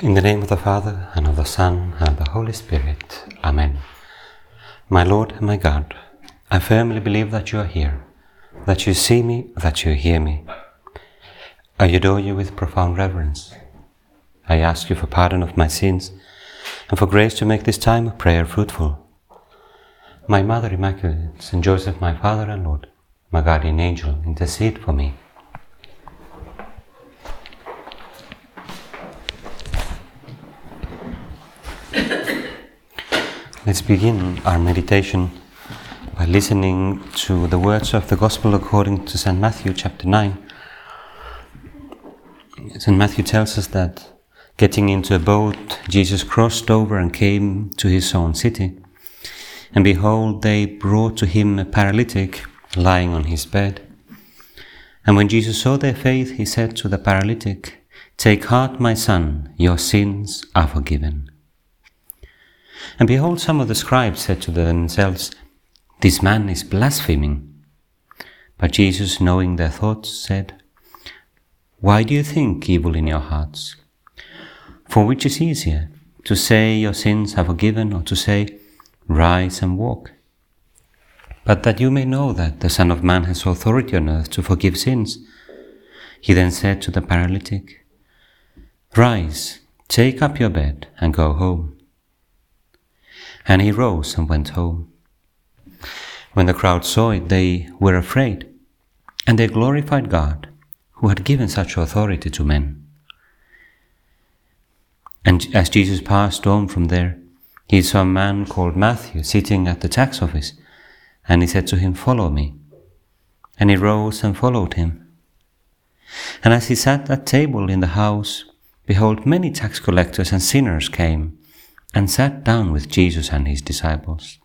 In the name of the Father, and of the Son, and of the Holy Spirit. Amen. My Lord and my God, I firmly believe that you are here, that you see me, that you hear me. I adore you with profound reverence. I ask you for pardon of my sins, and for grace to make this time of prayer fruitful. My Mother Immaculate, Saint Joseph, my Father and Lord, my guardian angel, intercede for me. Let's begin our meditation by listening to the words of the Gospel according to St. Matthew chapter 9. St. Matthew tells us that getting into a boat, Jesus crossed over and came to his own city. And behold, they brought to him a paralytic lying on his bed. And when Jesus saw their faith, he said to the paralytic, "Take heart, my son, your sins are forgiven." And behold, some of the scribes said to themselves, "This man is blaspheming." But Jesus, knowing their thoughts, said, "Why do you think evil in your hearts? For which is easier, to say your sins are forgiven, or to say, rise and walk? But that you may know that the Son of Man has authority on earth to forgive sins." He then said to the paralytic, "Rise, take up your bed and go home." And he rose and went home. When the crowd saw it, they were afraid, and they glorified God, who had given such authority to men. And as Jesus passed on from there, he saw a man called Matthew sitting at the tax office, and he said to him, "Follow me." And he rose and followed him. And as he sat at table in the house, behold, many tax collectors and sinners came and sat down with Jesus and his disciples.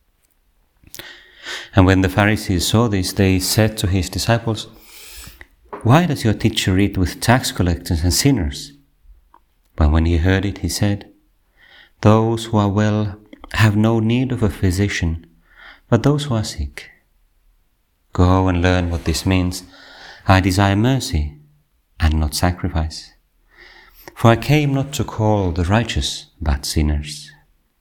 And when the Pharisees saw this, they said to his disciples, "Why does your teacher eat with tax collectors and sinners?" But when he heard it, he said, "Those who are well have no need of a physician, but those who are sick. Go and learn what this means. I desire mercy and not sacrifice. For I came not to call the righteous, but sinners."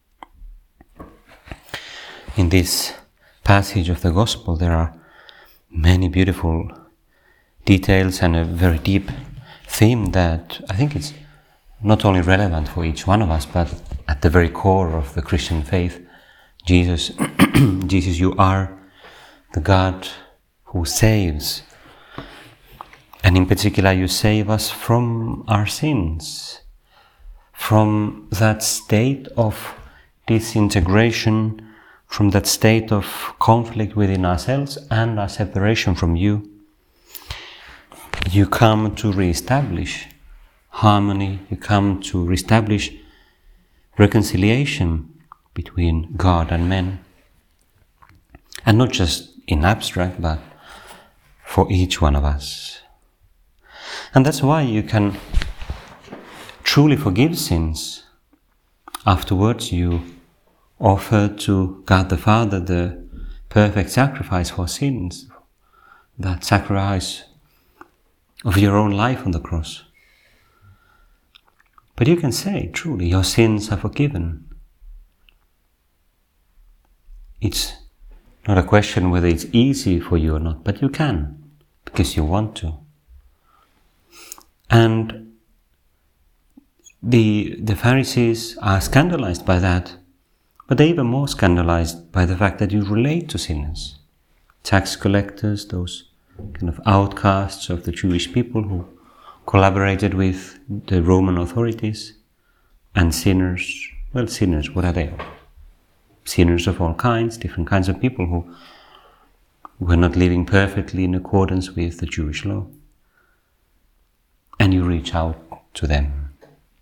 In this passage of the Gospel, there are many beautiful details and a very deep theme that I think it's not only relevant for each one of us, but at the very core of the Christian faith. Jesus, you are the God who saves. And in particular, you save us from our sins, from that state of disintegration, from that state of conflict within ourselves and our separation from you. You come to reestablish harmony, you come to reestablish reconciliation between God and men. And not just in abstract, but for each one of us. And that's why you can truly forgive sins. Afterwards, you offer to God the Father the perfect sacrifice for sins, that sacrifice of your own life on the cross. But you can say, truly, your sins are forgiven. It's not a question whether it's easy for you or not, but you can, because you want to. And the Pharisees are scandalized by that, but they're even more scandalized by the fact that you relate to sinners. Tax collectors, those kind of outcasts of the Jewish people who collaborated with the Roman authorities, and sinners, well, sinners, what are they? Sinners of all kinds, different kinds of people who were not living perfectly in accordance with the Jewish law. And you reach out to them.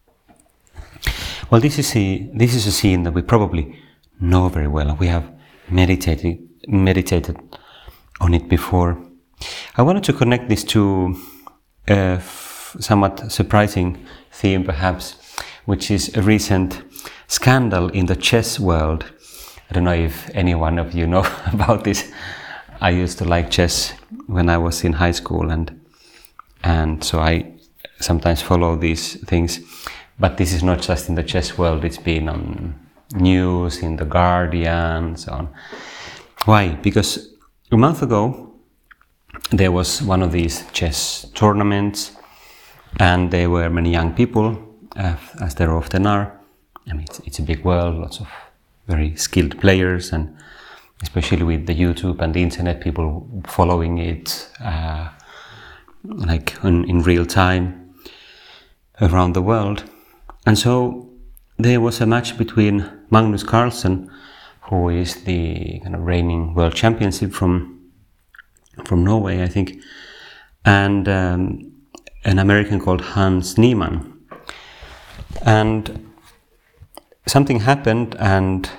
Well, this is a scene that we probably know very well. We have meditated on it before. I wanted to connect this to a somewhat surprising theme, perhaps, which is a recent scandal in the chess world. I don't know if any one of you know about this. I used to like chess when I was in high school, and so I sometimes follow these things. But this is not just in the chess world, it's been on news, in The Guardian, so on. Why? Because a month ago, there was one of these chess tournaments, and there were many young people, as there often are. I mean, it's a big world, lots of very skilled players, and especially with the YouTube and the internet, people following it like in real time around the world. And so there was a match between Magnus Carlsen, who is the kind of reigning world championship from Norway, I think, and an American called Hans Niemann. And something happened, and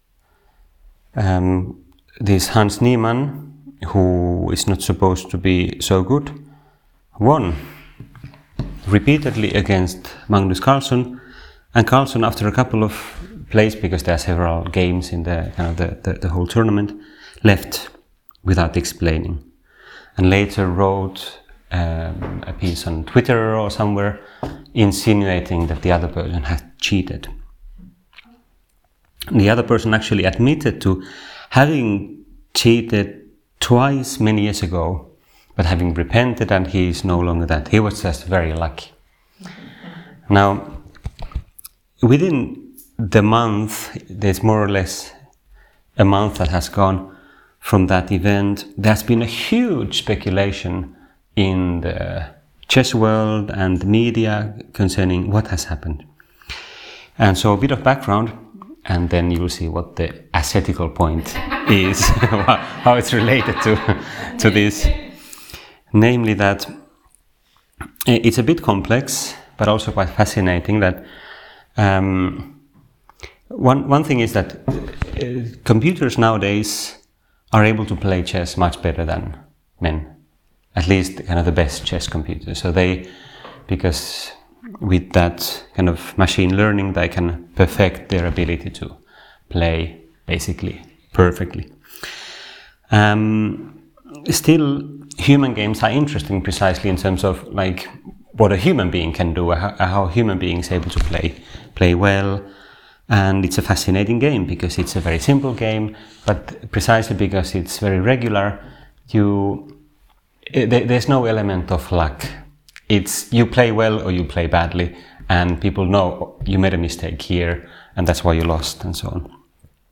this Hans Niemann, who is not supposed to be so good, won repeatedly against Magnus Carlsen. And Carlsen, after a couple of plays, because there are several games in the kind of the whole tournament, left without explaining, and later wrote a piece on Twitter or somewhere insinuating that the other person had cheated. The other person actually admitted to having cheated twice many years ago, but having repented, and he is no longer that. He was just very lucky. Now, within the month, there's more or less a month that has gone from that event. There's been a huge speculation in the chess world and the media concerning what has happened. And so a bit of background, and then you will see what the ascetical point is, how it's related to this. Namely that it's a bit complex, but also quite fascinating that one thing is that computers nowadays are able to play chess much better than men, at least kind of the best chess computers. So because with that kind of machine learning, they can perfect their ability to play basically perfectly. Still, human games are interesting precisely in terms of like what a human being can do, how a human being is able to play well. And it's a fascinating game because it's a very simple game, but precisely because it's very regular, there's no element of luck. It's you play well or you play badly, and people know you made a mistake here, and that's why you lost, and so on.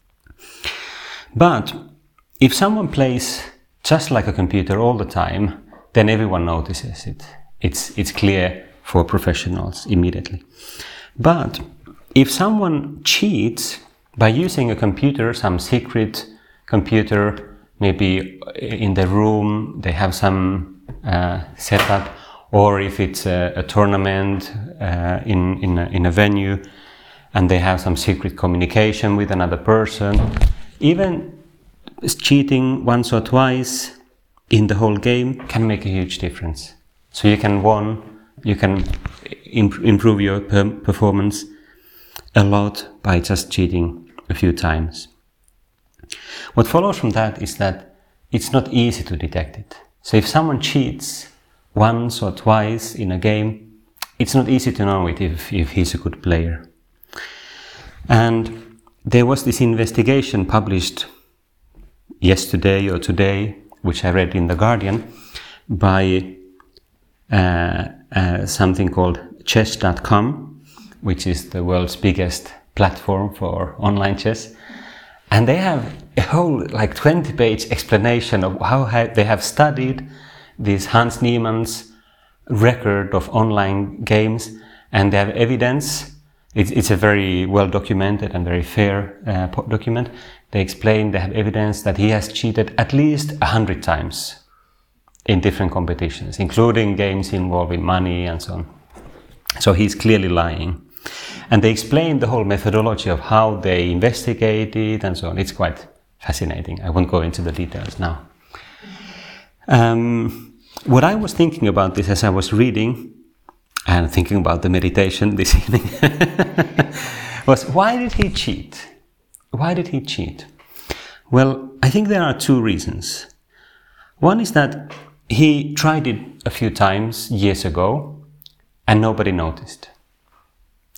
But if someone plays just like a computer all the time, then everyone notices it. It's clear for professionals immediately. But if someone cheats by using a computer, some secret computer, maybe in the room they have some setup, or if it's a tournament in a venue and they have some secret communication with another person, even cheating once or twice in the whole game can make a huge difference. So you can improve your performance a lot by just cheating a few times. What follows from that is that it's not easy to detect it. So if someone cheats once or twice in a game, it's not easy to know it if he's a good player. And there was this investigation published yesterday or today, which I read in The Guardian, by something called chess.com, which is the world's biggest platform for online chess. And they have a whole 20-page explanation of how they have studied this Hans Niemann's record of online games, and they have evidence. It's a very well documented and very fair document. They explain they have evidence that he has cheated at least 100 times in different competitions, including games involving money and so on. So he's clearly lying. And they explain the whole methodology of how they investigated and so on. It's quite fascinating. I won't go into the details now. What I was thinking about this as I was reading and thinking about the meditation this evening was, why did he cheat? Why did he cheat? Well, I think there are two reasons. One is that he tried it a few times years ago and nobody noticed.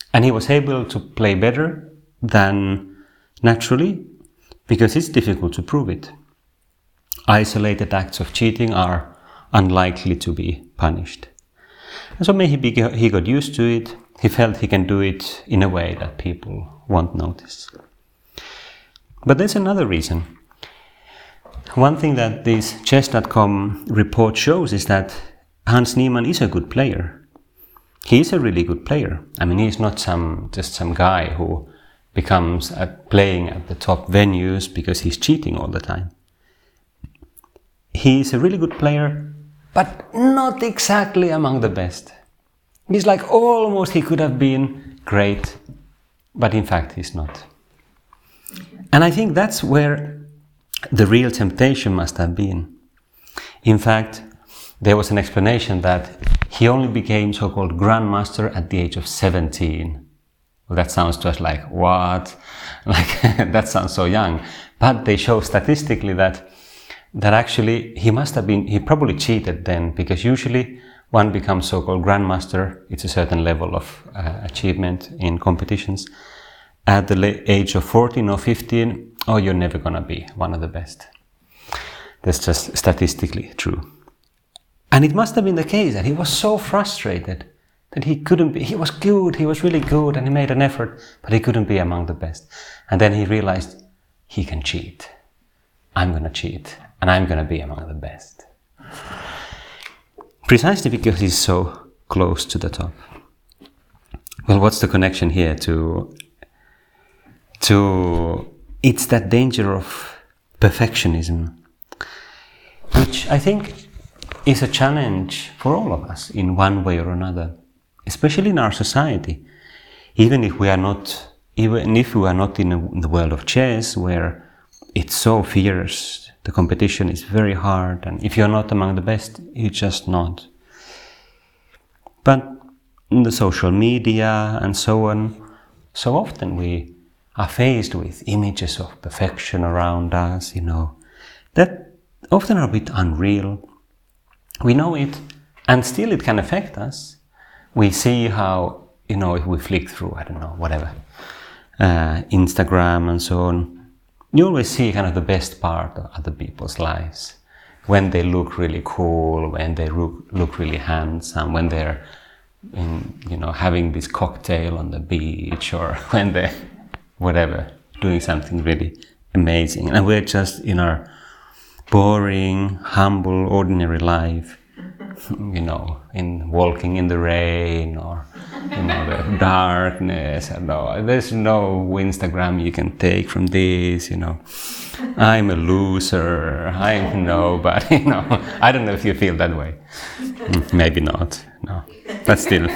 And he was able to play better than naturally, because it's difficult to prove it. Isolated acts of cheating are unlikely to be punished. And so maybe he got used to it. He felt he can do it in a way that people won't notice. But there's another reason. One thing that this chess.com report shows is that Hans Niemann is a good player. He is a really good player. I mean, he's not just some guy who becomes playing at the top venues because he's cheating all the time. He is a really good player, but not exactly among the best. He's like almost he could have been great, but in fact he's not. And I think that's where the real temptation must have been. In fact, there was an explanation that he only became so-called grandmaster at the age of 17. Well, that sounds to us like, what? Like, that sounds so young. But they show statistically that actually he probably cheated then, because usually one becomes so-called grandmaster, it's a certain level of achievement in competitions. At the age of 14 or 15, oh, you're never gonna be one of the best. That's just statistically true. And it must have been the case that he was so frustrated that he couldn't be. He was good, he was really good, and he made an effort, but he couldn't be among the best. And then he realized he can cheat. I'm gonna cheat, and I'm gonna be among the best. Precisely because he's so close to the top. Well, what's the connection here to it's that danger of perfectionism, which I think is a challenge for all of us in one way or another, especially in our society. Even if we are not in the world of chess, where it's so fierce, the competition is very hard, and if you're not among the best, you're just not. But in the social media and so on, so often we are faced with images of perfection around us, that often are a bit unreal. We know it, and still it can affect us. We see how, if we flick through, Instagram and so on, you always see kind of the best part of other people's lives. When they look really cool, when they look really handsome, when they're having this cocktail on the beach, or when they're, doing something really amazing. And we're just in our boring, humble, ordinary life, in walking in the rain, or the darkness. There's no Instagram you can take from this. I'm a loser. I'm nobody. I don't know if you feel that way. Maybe not. No, but still.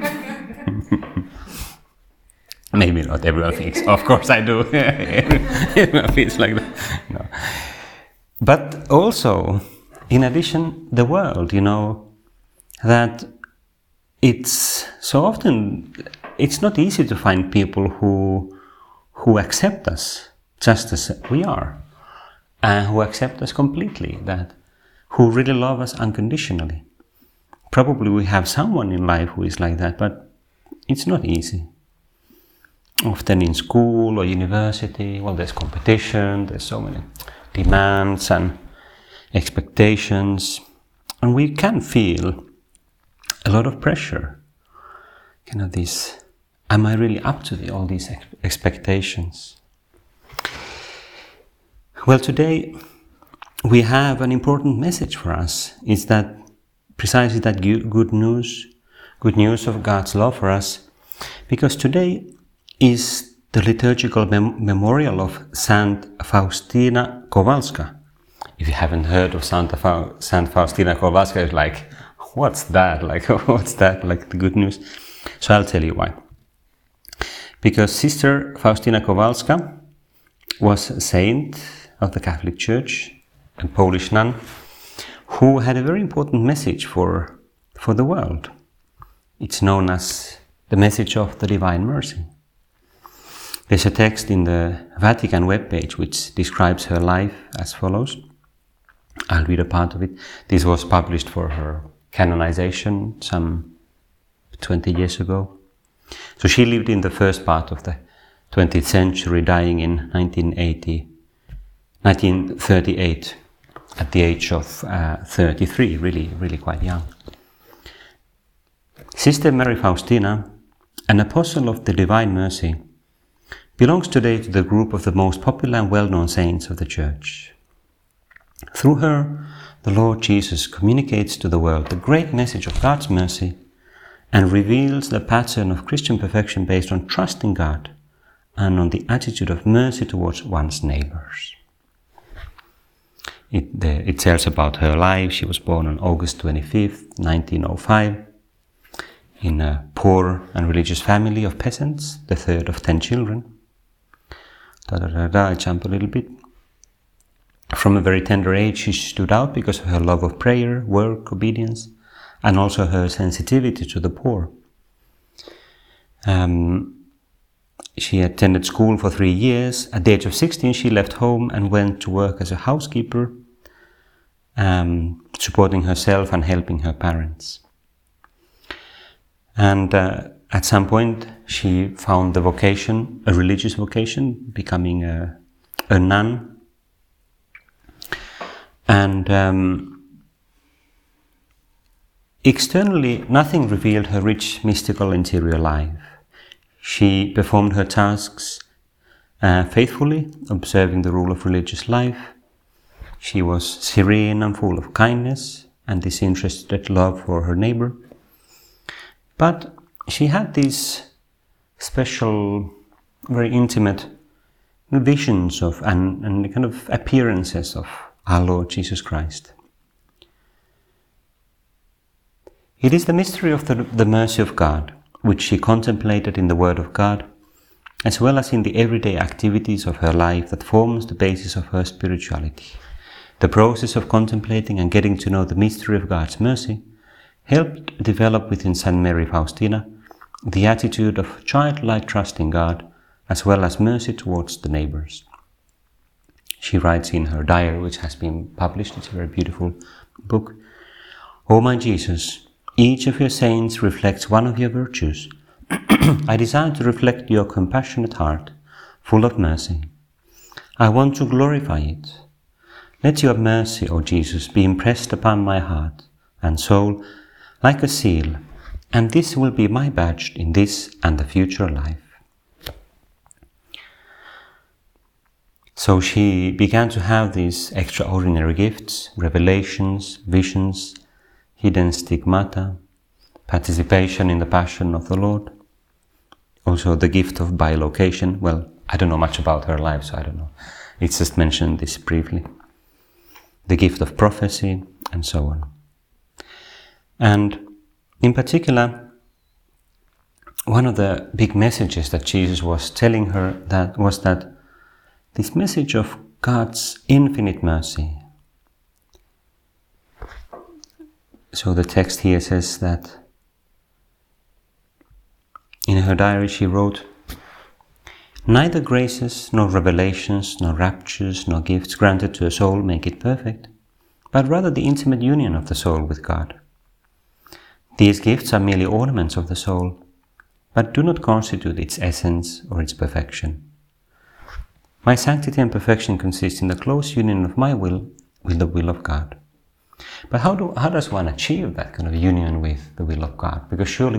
Maybe not everyone thinks. Of course I do. Everyone feels like that. No. But also, in addition, the world, that it's so often, it's not easy to find people who accept us just as we are, and who accept us completely, who really love us unconditionally. Probably we have someone in life who is like that, but it's not easy. Often in school or university, there's competition, there's so many demands and expectations, and we can feel a lot of pressure. This, am I really up to all these expectations? Well, today we have an important message for us. It's that precisely that good news of God's love for us, because today is the liturgical memorial of Saint Faustina Kowalska. If you haven't heard of Saint Faustina Kowalska, it's like, what's that? What's that? The good news? So I'll tell you why. Because Sister Faustina Kowalska was a saint of the Catholic Church, a Polish nun, who had a very important message for the world. It's known as the message of the Divine Mercy. There's a text in the Vatican webpage which describes her life as follows. I'll read a part of it. This was published for her canonization some 20 years ago. So she lived in the first part of the 20th century, dying in 1938 at the age of 33, really quite young. Sister Mary Faustina, an apostle of the Divine Mercy, belongs today to the group of the most popular and well-known saints of the Church. Through her, the Lord Jesus communicates to the world the great message of God's mercy and reveals the pattern of Christian perfection based on trust in God and on the attitude of mercy towards one's neighbors. It tells about her life. She was born on August 25th, 1905, in a poor and religious family of peasants, the third of 10 children. I jump a little bit. From a very tender age, she stood out because of her love of prayer, work, obedience, and also her sensitivity to the poor. She attended school for 3 years. At the age of 16, she left home and went to work as a housekeeper, supporting herself and helping her parents. And at some point, she found the vocation, a religious vocation, becoming a nun. And externally, nothing revealed her rich, mystical interior life. She performed her tasks faithfully, observing the rule of religious life. She was serene and full of kindness and disinterested love for her neighbor. But she had these special, very intimate visions of and kind of appearances of our Lord Jesus Christ. It is the mystery of the mercy of God, which she contemplated in the Word of God, as well as in the everyday activities of her life, that forms the basis of her spirituality. The process of contemplating and getting to know the mystery of God's mercy helped develop within St. Mary Faustina the attitude of childlike trust in God, as well as mercy towards the neighbors. She writes in her diary, which has been published, it's a very beautiful book, "O my Jesus, each of your saints reflects one of your virtues. I desire to reflect your compassionate heart, full of mercy. I want to glorify it. Let your mercy, O Jesus, be impressed upon my heart and soul like a seal, and this will be my badge in this and the future life." So she began to have these extraordinary gifts, revelations, visions, hidden stigmata, participation in the Passion of the Lord, also the gift of bilocation. Well, I don't know much about her life, so I don't know. It's just mentioned this briefly. The gift of prophecy, and so on. And in particular, one of the big messages that Jesus was telling her was that this message of God's infinite mercy. So the text here says that in her diary she wrote, "Neither graces, nor revelations, nor raptures, nor gifts granted to a soul make it perfect, but rather the intimate union of the soul with God. These gifts are merely ornaments of the soul, but do not constitute its essence or its perfection. My sanctity and perfection consist in the close union of my will with the will of God." But how does one achieve that kind of union with the will of God? Because surely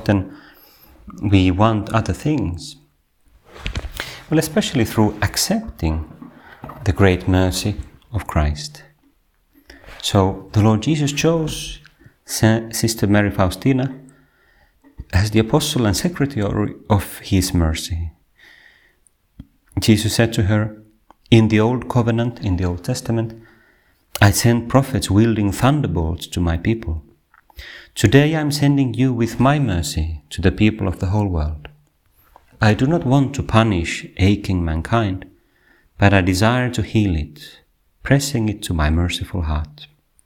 we want other things. Well, especially through accepting the great mercy of Christ. So the Lord Jesus chose Sister Mary Faustina as the apostle and secretary of His mercy. Jesus said to her, "In the Old Covenant, in the Old Testament, I sent prophets wielding thunderbolts to my people. Today I am sending you with my mercy to the people of the whole world. I do not want to punish aching mankind, but I desire to heal it, pressing it to my merciful heart."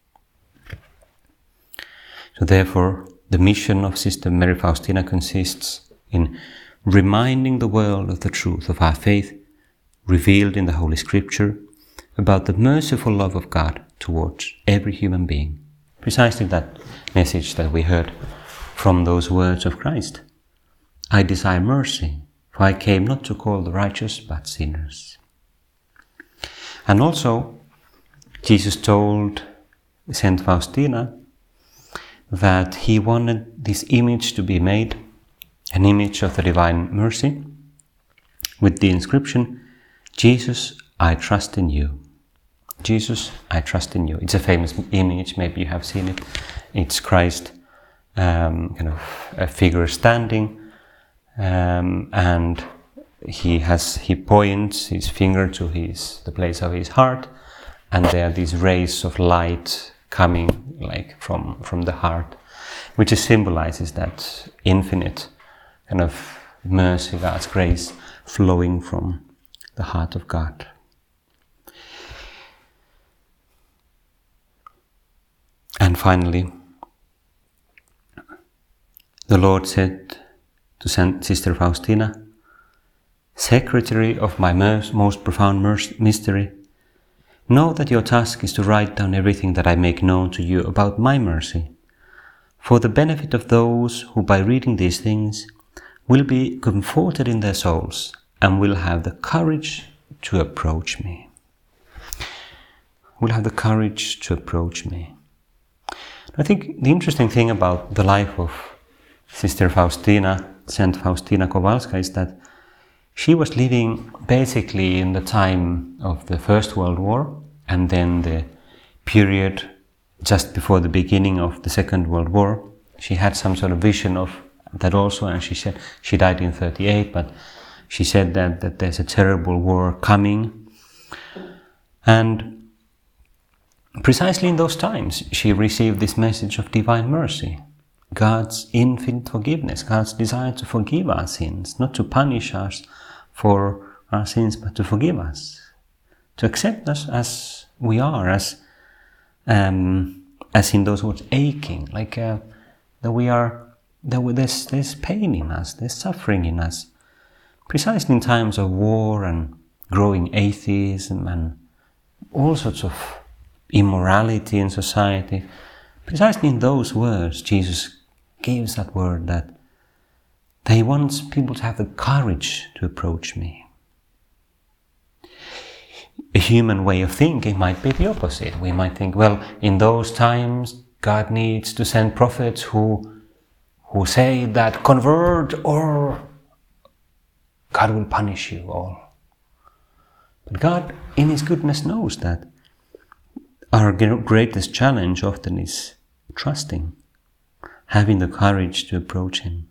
So therefore, the mission of Sister Mary Faustina consists in reminding the world of the truth of our faith revealed in the Holy Scripture about the merciful love of God towards every human being. Precisely that message that we heard from those words of Christ. I desire mercy, for I came not to call the righteous, but sinners. And also, Jesus told Saint Faustina that he wanted this image to be made, an image of the divine mercy, with the inscription, Jesus, I trust in you. Jesus, I trust in you. It's a famous image, maybe you have seen it. It's Christ, kind of a figure standing, and he points his finger to the place of his heart, and there are these rays of light coming like from the heart, which symbolizes that infinite kind of mercy, God's grace flowing from the heart of God. And finally, the Lord said to Sister Faustina, Secretary of my most profound mystery, know that your task is to write down everything that I make known to you about my mercy, for the benefit of those who by reading these things will be comforted in their souls and will have the courage to approach me. Will have the courage to approach me. I think the interesting thing about the life of Sister Faustina, Saint Faustina Kowalska, is that she was living basically in the time of the First World War and then the period just before the beginning of the Second World War. She had some sort of vision of that also, and she said she died in 1938, but she said that there's a terrible war coming. And precisely in those times, she received this message of divine mercy, God's infinite forgiveness, God's desire to forgive our sins, not to punish us for our sins, but to forgive us, to accept us as we are, as in those words, aching, like that there's pain in us, there's suffering in us, precisely in times of war and growing atheism and all sorts of immorality in society. Precisely in those words, Jesus gives that word that he wants people to have the courage to approach me. A human way of thinking might be the opposite. We might think, well, in those times, God needs to send prophets who say that convert or God will punish you all. But God, in His goodness, knows that our greatest challenge often is trusting, having the courage to approach Him.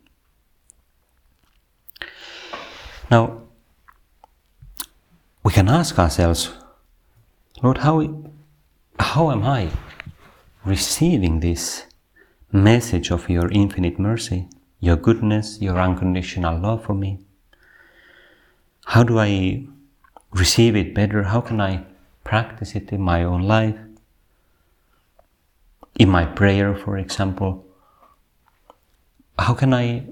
Now, we can ask ourselves, Lord, how am I receiving this message of your infinite mercy, your goodness, your unconditional love for me? How do I receive it better? How can I practice it in my own life? In my prayer, for example, how can I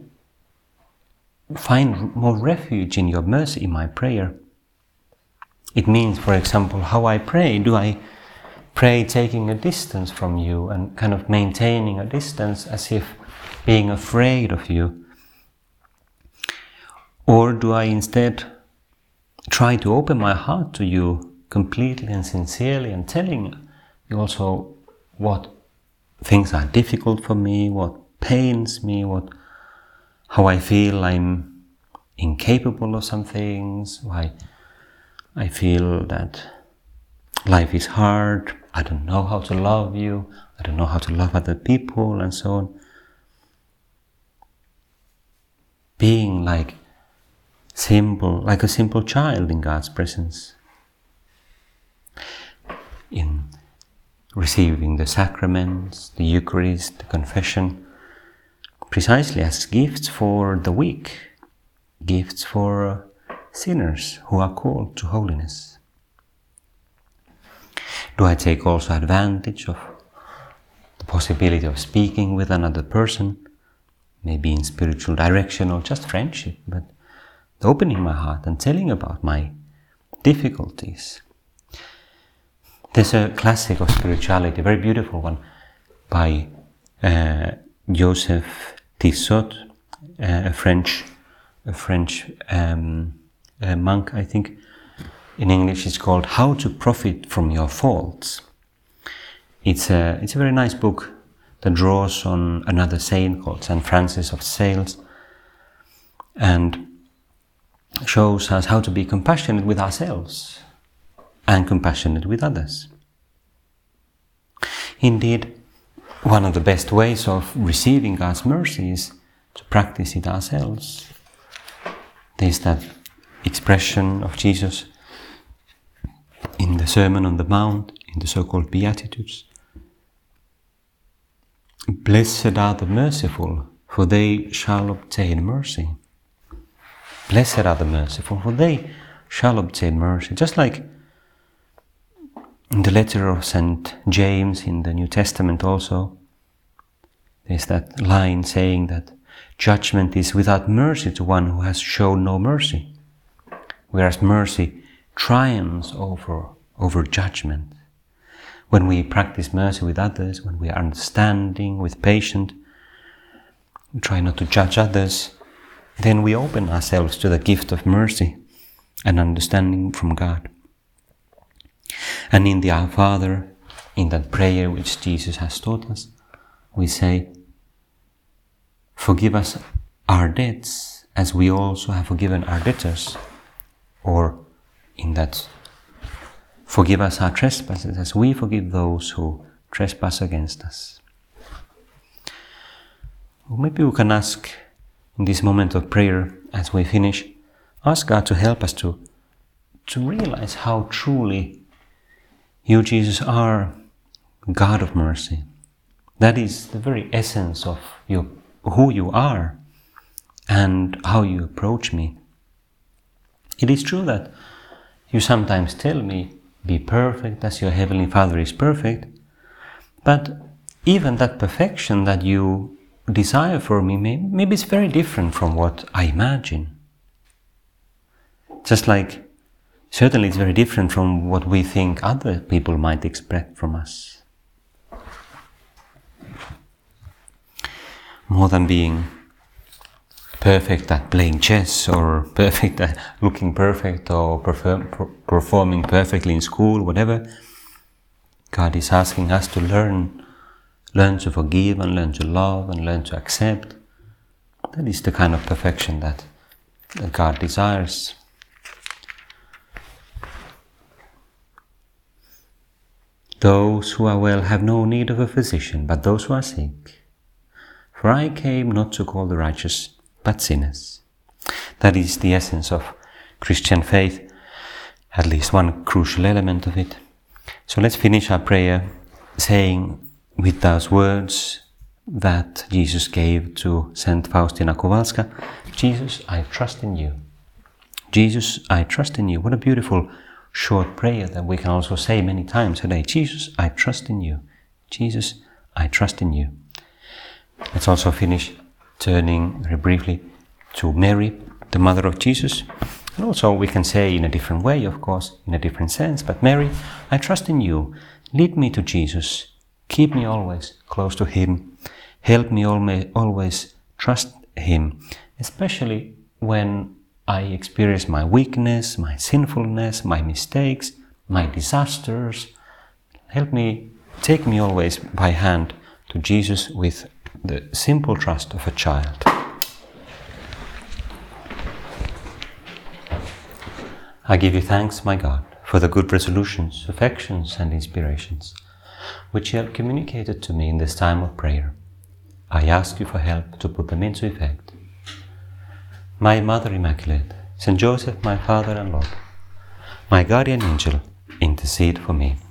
find more refuge in your mercy in my prayer? It means, for example, how I pray. Do I pray taking a distance from you and kind of maintaining a distance as if being afraid of you? Or do I instead try to open my heart to you completely and sincerely and telling you also what things are difficult for me, what pains me, how I feel I'm incapable of some things, why I feel that life is hard, I don't know how to love you, I don't know how to love other people, and so on. Being like a simple child in God's presence, in receiving the sacraments, the Eucharist, the confession, precisely as gifts for the weak, gifts for sinners who are called to holiness. Do I take also advantage of the possibility of speaking with another person, maybe in spiritual direction or just friendship, but opening my heart and telling about my difficulties? There's a classic of spirituality, a very beautiful one, by Joseph Tissot, a French a French monk, I think. In English it's called How to Profit from Your Faults. It's a very nice book that draws on another saint called St. Francis of Sales and shows us how to be compassionate with ourselves and compassionate with others. Indeed, one of the best ways of receiving God's mercy is to practice it ourselves. There's that expression of Jesus in the Sermon on the Mount, in the so-called Beatitudes. Blessed are the merciful, for they shall obtain mercy. Blessed are the merciful, for they shall obtain mercy. Just like in the letter of St. James in the New Testament also, there's that line saying that judgment is without mercy to one who has shown no mercy, whereas mercy triumphs over judgment. When we practice mercy with others, when we are understanding, with patience, we try not to judge others, then we open ourselves to the gift of mercy and understanding from God. And in the Our Father, in that prayer which Jesus has taught us, we say, forgive us our debts as we also have forgiven our debtors. Or in that, forgive us our trespasses as we forgive those who trespass against us. Or maybe we can ask in this moment of prayer, as we finish, ask God to help us to realize how truly you, Jesus, are God of mercy. That is the very essence of who you are and how you approach me. It is true that you sometimes tell me, be perfect as your Heavenly Father is perfect, but even that perfection that you desire for me, maybe it's very different from what I imagine. Just like, certainly it's very different from what we think other people might expect from us. More than being perfect at playing chess, or perfect at looking perfect, or performing perfectly in school, whatever, God is asking us to learn to forgive and learn to love and learn to accept. That is the kind of perfection that God desires. Those who are well have no need of a physician, but those who are sick. For I came not to call the righteous, but sinners. That is the essence of Christian faith, at least one crucial element of it. So let's finish our prayer saying with those words that Jesus gave to Saint Faustina Kowalska, Jesus, I trust in you. Jesus, I trust in you. What a beautiful short prayer that we can also say many times a day. Jesus, I trust in you. Jesus, I trust in you. Let's also finish turning very briefly to Mary, the mother of Jesus. And also we can say in a different way, of course, in a different sense, but Mary, I trust in you. Lead me to Jesus. Keep me always close to Him. Help me always trust Him, especially when I experience my weakness, my sinfulness, my mistakes, my disasters. Help me, take me always by hand to Jesus with the simple trust of a child. I give you thanks, my God, for the good resolutions, affections and inspirations which you have communicated to me in this time of prayer. I ask you for help to put them into effect. My Mother Immaculate, Saint Joseph, my Father and Lord, my guardian angel, intercede for me.